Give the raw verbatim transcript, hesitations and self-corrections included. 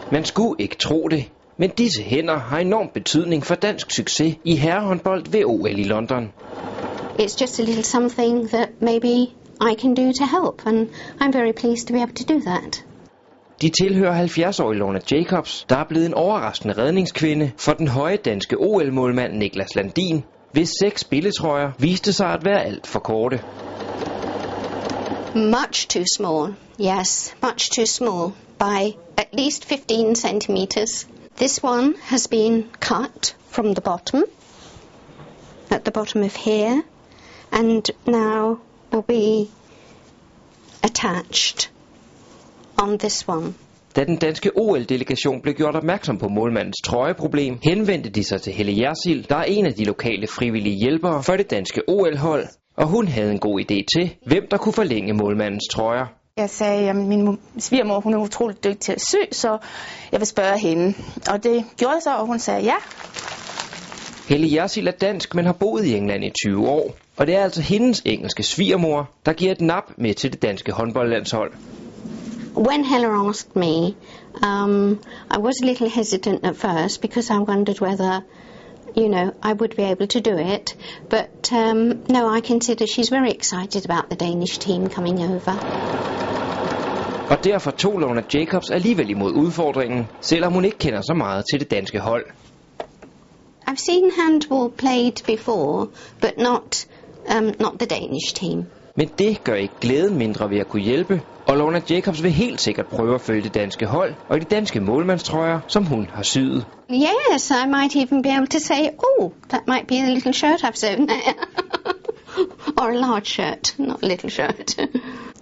Man skulle ikke tro det, men disse hænder har enorm betydning for dansk succes i herrehåndbold ved O L i London. It's just a little something that maybe I can do to help, and I'm very pleased to be able to do that. De tilhører halvfjerds-årige Lorna Jacobs, der er blevet en overraskende redningskvinde for den høje danske O L-målmand Niklas Landin, hvis seks spilletrøjer viste sig at være alt for korte. Much too small, yes, much too small by at least fifteen centimeters. This one has been cut from the bottom, at the bottom of here, and now will be attached on this one. Da den danske O L-delegation blev gjort opmærksom på målmandens trøjeproblem, henvendte de sig til Helle Jersild, der er en af de lokale frivillige hjælpere for det danske O L-hold, og hun havde en god idé til, hvem der kunne forlænge målmandens trøjer. Jeg sagde, at min svigermor hun er utroligt dygtig til at sy, så jeg vil spørge hende. Og det gjorde jeg så, og hun sagde ja. Helle Jersild er dansk, men har boet i England i tyve år, og det er altså hendes engelske svigermor, der giver et nap med til det danske håndboldlandshold. When Hella asked me, um, I was a little hesitant at first because I wondered whether, you know, I would be able to do it. But um, no, I consider she's very excited about the Danish team coming over. Og derfor tog Lorna Jacobs alligevel imod udfordringen, selvom hun ikke kender så meget til det danske hold. I've seen handball played before, but not, um, not the Danish team. Men det gør ikke glæden mindre ved at kunne hjælpe, og Lorna Jacobs vil helt sikkert prøve at følge det danske hold og de danske målmandstrøjer, som hun har syet. Yes, I might even be able to say, oh, that might be the little shirt I've sewn there. Or a large shirt, not a little shirt.